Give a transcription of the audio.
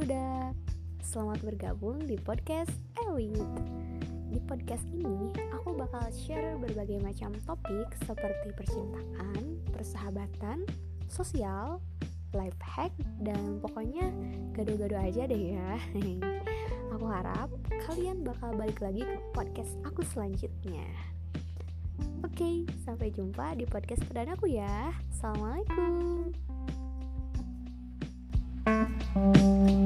Budak, selamat bergabung di podcast Elite. Di podcast ini, aku bakal share berbagai macam topik seperti percintaan, persahabatan, sosial, life hack, dan pokoknya gado-gado aja deh ya. Aku harap kalian bakal balik lagi ke podcast aku selanjutnya. Oke, sampai jumpa di podcast perdanaku ya. Assalamualaikum.